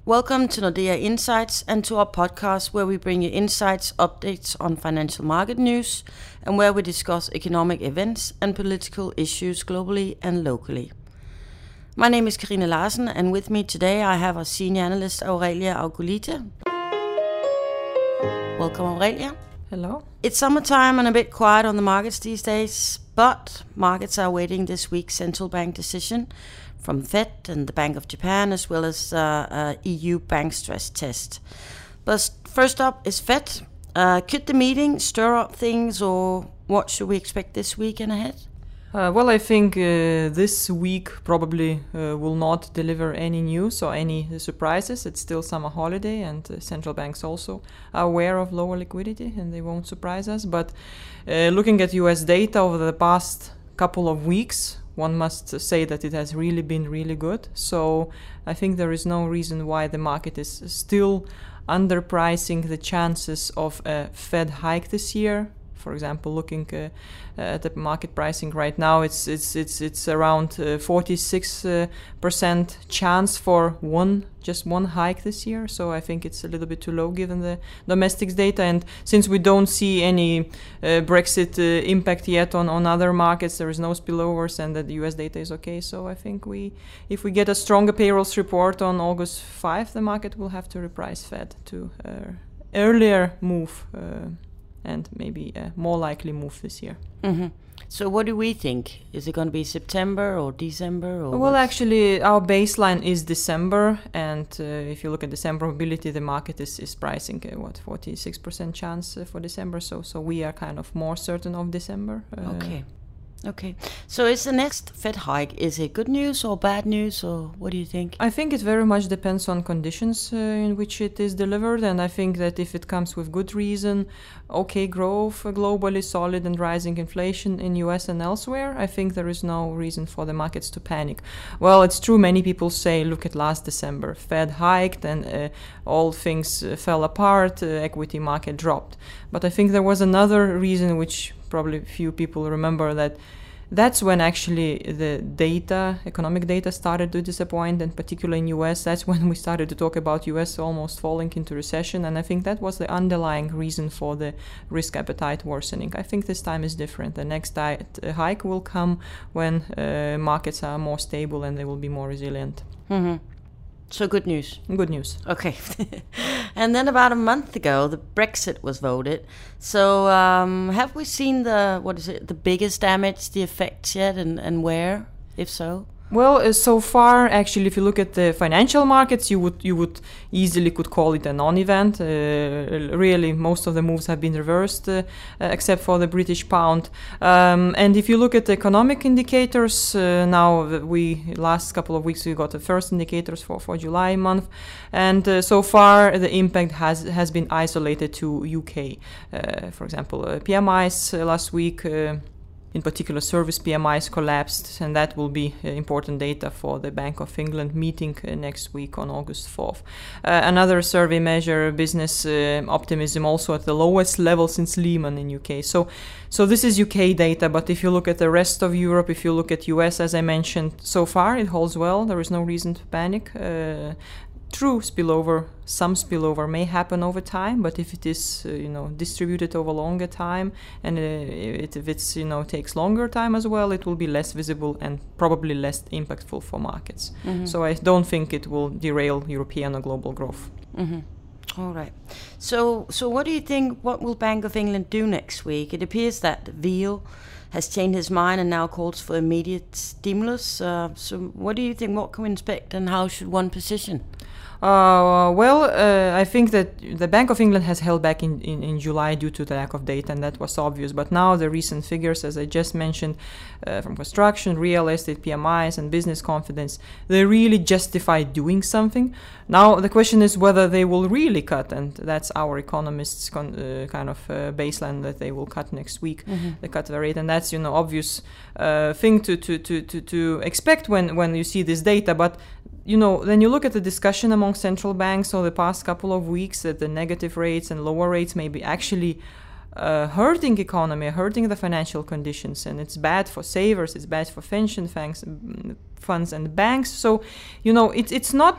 Welcome to Nordea Insights and to our podcast where we bring you insights, updates on financial market news and where we discuss economic events and political issues globally and locally. My name is Karina Larsen and with me today I have our senior analyst Aurelia Augulite. Welcome Aurelia. Hello. It's summertime and a bit quiet on the markets these days, but markets are awaiting this week's central bank decision from Fed and the Bank of Japan, as well as EU bank stress test. But first up is Fed. Could the meeting stir up things, or what should we expect this week and ahead? Well, I think this week probably will not deliver any news or any surprises. It's still summer holiday and central banks also are aware of lower liquidity and they won't surprise us. But looking at US data over the past couple of weeks, one must say that it has really been really good. So I think there is no reason why the market is still underpricing the chances of a Fed hike this year. For example, looking at the market pricing right now, it's around 46% chance for just one hike this year. So I think it's a little bit too low given the domestics data. And since we don't see any Brexit impact yet on other markets, there is no spillovers, and the US data is okay. So I think if we get a stronger payrolls report on August 5, the market will have to reprice Fed to earlier move. And maybe a more likely move this year. Mm-hmm. So what do we think? Is it going to be September or December? Or well, actually, our baseline is December. And if you look at December probability, the market is pricing, 46% chance for December. So we are kind of more certain of December. Okay. So is the next Fed hike, is it good news or bad news, or what do you think? I think it very much depends on conditions in which it is delivered. And I think that if it comes with good reason, okay growth globally, solid and rising inflation in US and elsewhere, I think there is no reason for the markets to panic. Well, it's true, many people say, look at last December, Fed hiked and all things fell apart, equity market dropped. But I think there was another reason which probably few people remember, that's when actually the economic data started to disappoint, and particularly in US, that's when we started to talk about US almost falling into recession, and I think that was the underlying reason for the risk appetite worsening. I think this time is different. The next hike will come when markets are more stable and they will be more resilient. Mm-hmm. So good news. Good news. Okay. And then about a month ago, the Brexit was voted. So have we seen the biggest damage, the effects yet, and where, if so? Well, so far, actually, if you look at the financial markets, you would easily could call it a non-event. Really, most of the moves have been reversed, except for the British pound. And if you look at the economic indicators, now last couple of weeks we got the first indicators for July month, and so far the impact has been isolated to UK. For example, PMIs last week. In particular, service PMIs collapsed, and that will be important data for the Bank of England meeting next week on August 4th. Another survey measure, business optimism, also at the lowest level since Lehman in UK. So this is UK data, but if you look at the rest of Europe, if you look at US, as I mentioned, so far it holds well. There is no reason to panic. True some spillover may happen over time, but if it is distributed over longer time, and if it takes longer time as well, it will be less visible and probably less impactful for markets. Mm-hmm. So I don't think it will derail European or global growth. Mm-hmm. All right. So what do you think? What will Bank of England do next week? It appears that Veal has changed his mind and now calls for immediate stimulus. So what do you think? What can we expect, and how should one position? I think that the Bank of England has held back in July due to the lack of data, and that was obvious. But now the recent figures, as I just mentioned, from construction, real estate, PMIs, and business confidence, they really justify doing something. Now the question is whether they will really cut, and that's our economists' baseline that they will cut next week. Mm-hmm. They cut the rate, and that's obvious thing to expect when you see this data, but. Then you look at the discussion among central banks over the past couple of weeks that the negative rates and lower rates may be actually hurting economy, hurting the financial conditions, and it's bad for savers, it's bad for pension funds and banks. So, it's not a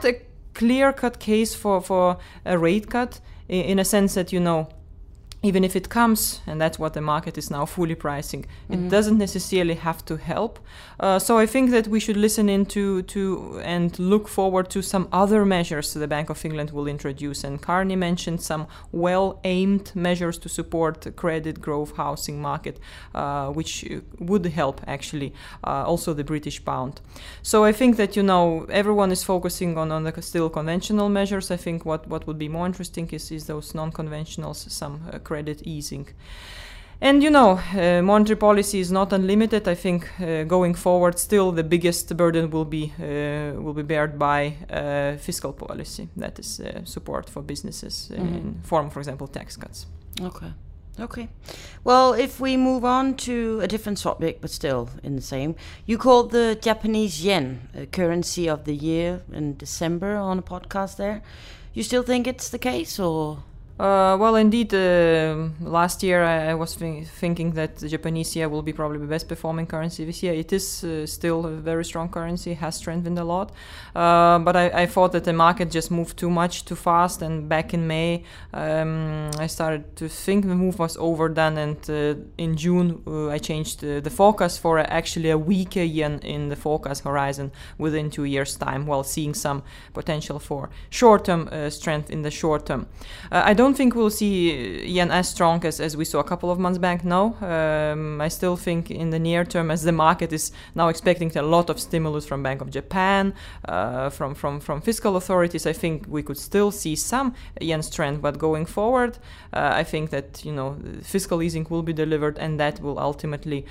clear-cut case for a rate cut in a sense that, even if it comes, and that's what the market is now fully pricing, it doesn't necessarily have to help. So I think that we should listen into and look forward to some other measures the Bank of England will introduce. And Carney mentioned some well-aimed measures to support the credit growth housing market, which would help actually also the British pound. So I think that, everyone is focusing on the still conventional measures. I think what would be more interesting is those non-conventionals, some credit easing. And monetary policy is not unlimited. I think going forward, still the biggest burden will be bared by fiscal policy. That is support for businesses in form, for example, tax cuts. Okay. Well, if we move on to a different topic, but still in the same, you called the Japanese yen a currency of the year in December on a podcast there. You still think it's the case, or? Well, indeed, last year I was thinking that the Japanese yen will be probably the best performing currency this year. It is still a very strong currency, has strengthened a lot. But I thought that the market just moved too much, too fast. And back in May, I started to think the move was overdone. And in June, I changed the forecast for actually a weaker yen in the forecast horizon within 2 years' time, while seeing some potential for short-term strength in the short term. I don't think we'll see yen as strong as we saw a couple of months back. No, I still think in the near term, as the market is now expecting a lot of stimulus from Bank of Japan, from fiscal authorities, I think we could still see some yen strength. But going forward, I think that fiscal easing will be delivered, and that will ultimately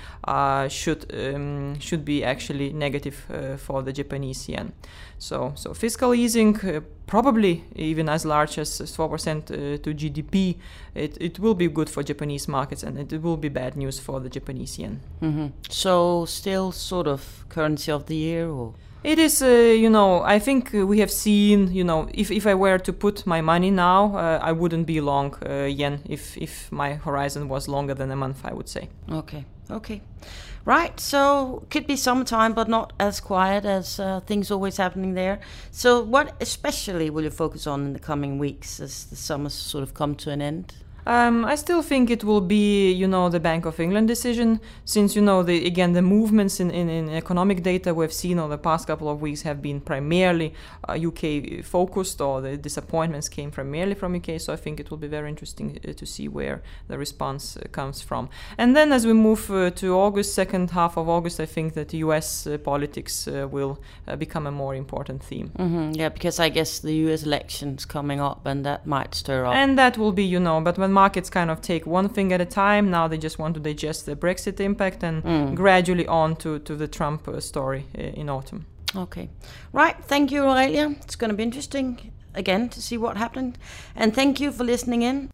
should be actually negative for the Japanese yen. So fiscal easing, probably even as large as 4% to GDP, it will be good for Japanese markets, and it will be bad news for the Japanese yen. So still sort of currency of the year, or? It is, I think we have seen, if I were to put my money now, I wouldn't be long yen if my horizon was longer than a month, I would say. Okay. Right, so could be summertime, but not as quiet as things always happening there. So what especially will you focus on in the coming weeks as the summer sort of come to an end? I still think it will be, the Bank of England decision, since, the movements in economic data we've seen over the past couple of weeks have been primarily UK focused, or the disappointments came primarily from UK. So I think it will be very interesting to see where the response comes from. And then as we move to August, second half of August, I think that US politics will become a more important theme. Yeah, because I guess the US election's coming up, and that might stir up. And that will be, but when markets kind of take one thing at a time, now they just want to digest the Brexit impact and gradually on to the Trump story in autumn. Okay. Right. Thank you, Aurelia. It's going to be interesting again to see what happened. And thank you for listening in.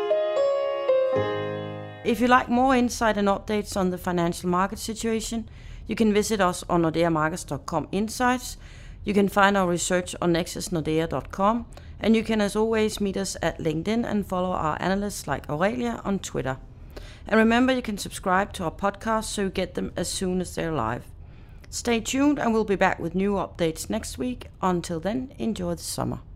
If you like more insight and updates on the financial market situation, you can visit us on nordeamarkets.com insights. You can find our research on nexusnordea.com. And you can, as always, meet us at LinkedIn and follow our analysts like Aurelia on Twitter. And remember, you can subscribe to our podcast so you get them as soon as they're live. Stay tuned, and we'll be back with new updates next week. Until then, enjoy the summer.